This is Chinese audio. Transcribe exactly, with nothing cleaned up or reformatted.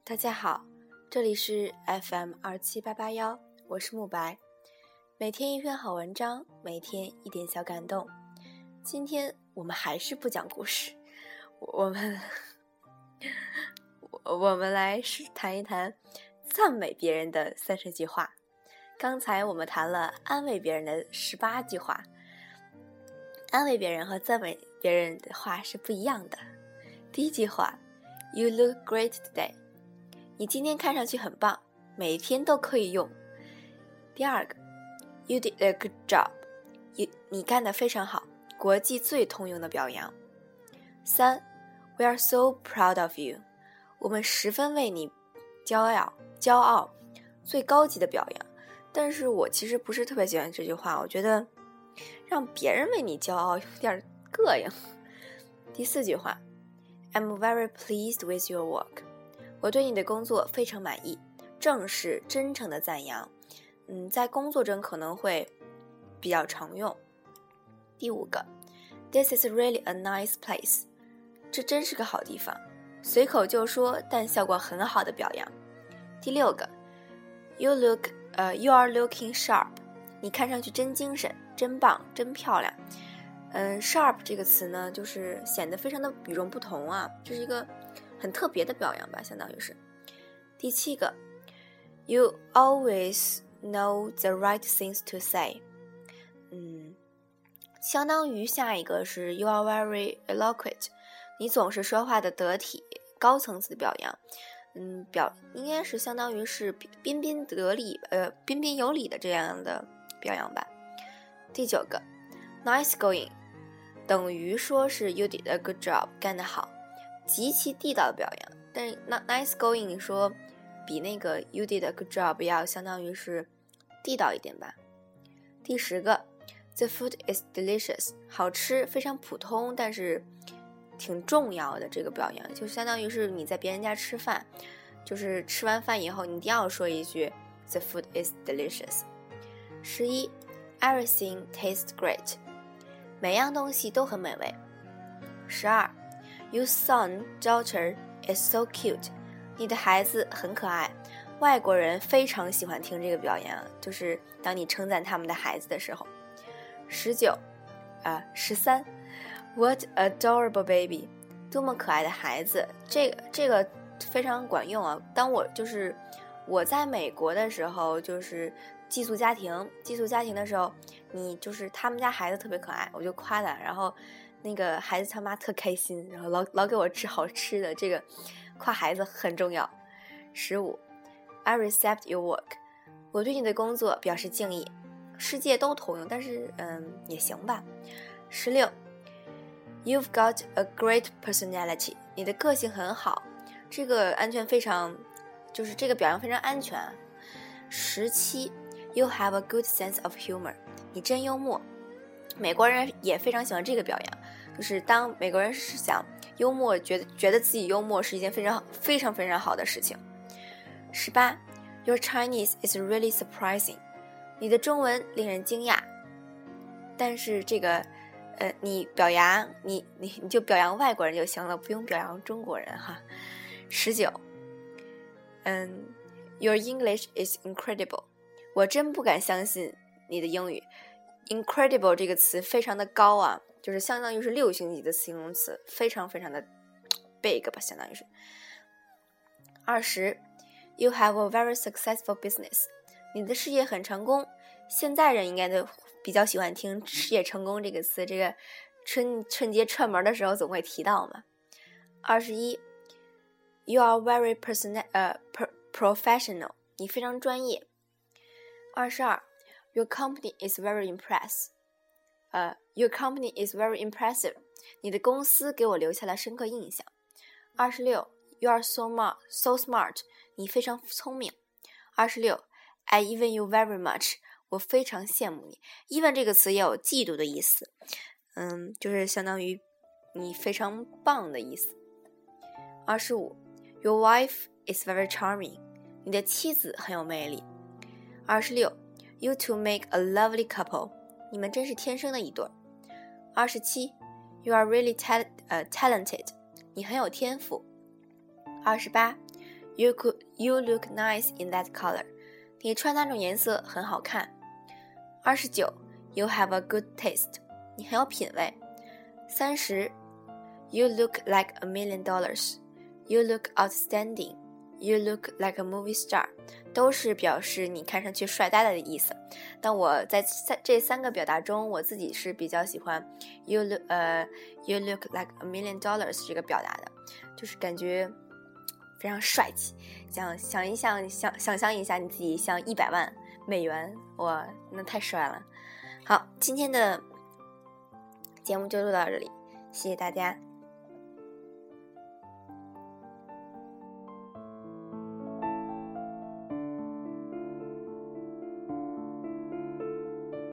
大家好，这里是 F M 二七八八一，我是慕白。每天一篇好文章，每天一点小感动。今天我们还是不讲故事，我们我们来谈一谈赞美别人的三十句话。刚才我们谈了安慰别人的十八句话，安慰别人和赞美别人的话是不一样的。第一句话 You look great today， 你今天看上去很棒，每天都可以用。第二个 You did a good job， you, 你干得非常好，国际最通用的表扬。三 We are so proud of you， 我们十分为你骄傲骄傲，最高级的表扬。但是我其实不是特别喜欢这句话，我觉得让别人为你骄傲有点膈应。第四句话 I'm very pleased with your work， 我对你的工作非常满意，正式真诚的赞扬，嗯，在工作中可能会比较常用。第五个 This is really a nice place， 这真是个好地方，随口就说但效果很好的表扬。第六个 You look Uh, you are looking sharp， 你看上去真精神，真棒，真漂亮。嗯 sharp 这个词呢，就是显得非常的与众不同啊，这是一个很特别的表扬吧，相当于是。第七个 You always know the right things to say， 嗯，相当于下一个是 You are very eloquent， 你总是说话的得体，高层次的表扬。嗯，表应该是相当于是彬彬得礼，呃，彬彬有礼的这样的表扬吧。第九个 ，nice going， 等于说是 you did a good job， 干得好，极其地道的表扬。但是 nice going 说比那个 you did a good job 要相当于是地道一点吧。第十个 ，the food is delicious， 好吃，非常普通，但是挺重要的这个表扬，就相当于是你在别人家吃饭，就是吃完饭以后你一定要说一句 The food is delicious。 十一 Everything tastes great， 每样东西都很美味。十二 Your son daughter is so cute， 你的孩子很可爱，外国人非常喜欢听这个表扬，就是当你称赞他们的孩子的时候。十九啊，十三What adorable baby， 多么可爱的孩子，这个这个非常管用啊。当我就是我在美国的时候，就是寄宿家庭寄宿家庭的时候，你就是他们家孩子特别可爱，我就夸他，然后那个孩子他妈特开心，然后老老给我吃好吃的，这个夸孩子很重要。十五 I respect your work， 我对你的工作表示敬意，世界都通用，但是嗯也行吧。十六You've got a great personality， 你的个性很好，这个安全非常，就是这个表扬非常安全。十七 You have a good sense of humor， 你真幽默，美国人也非常喜欢这个表扬，就是当美国人是想幽默，觉得觉得自己幽默是一件非常非常非常好的事情。十八 Your Chinese is really surprising， 你的中文令人惊讶，但是这个呃，你表扬你你你就表扬外国人就行了，不用表扬中国人哈。十九，嗯 ，Your English is incredible， 我真不敢相信你的英语。incredible 这个词非常的高啊，就是相当于是六星级的形容词，非常非常的 big 吧，相当于是。二十 ，You have a very successful business， 你的事业很成功。现在人应该都比较喜欢听事业成功这个词，这个春春节串门的时候总会提到嘛。二十一 You are very person, 呃、uh, professional， 你非常专业。二十二 Your company is very impressive， 呃、uh, Your company is very impressive， 你的公司给我留下了深刻印象。二十六 You are so smart, so smart， 你非常聪明。二十六 I even you very much，我非常羡慕你。even 这个词也有嫉妒的意思，嗯，就是相当于你非常棒的意思。二十五 Your wife is very charming， 你的妻子很有魅力。二十六 You two make a lovely couple， 你们真是天生的一对。二十七 You are really ta- uh, talented， 你很有天赋。二十八 You could, you look nice in that color. 你穿那种颜色很好看。二十九 You have a good taste. 你很有品味。三十 You look like a million dollars. You look outstanding. You look like a movie star. 都是表示你看上去帅呆了的意思。但我在三这三个表达中，我自己是比较喜欢 You look 呃 You look like a million dollars 这个表达的，就是感觉非常帅气。想想一想想想象一下你自己像一百万美元，哇，那太帅了。好，今天的节目就录到这里，谢谢大家。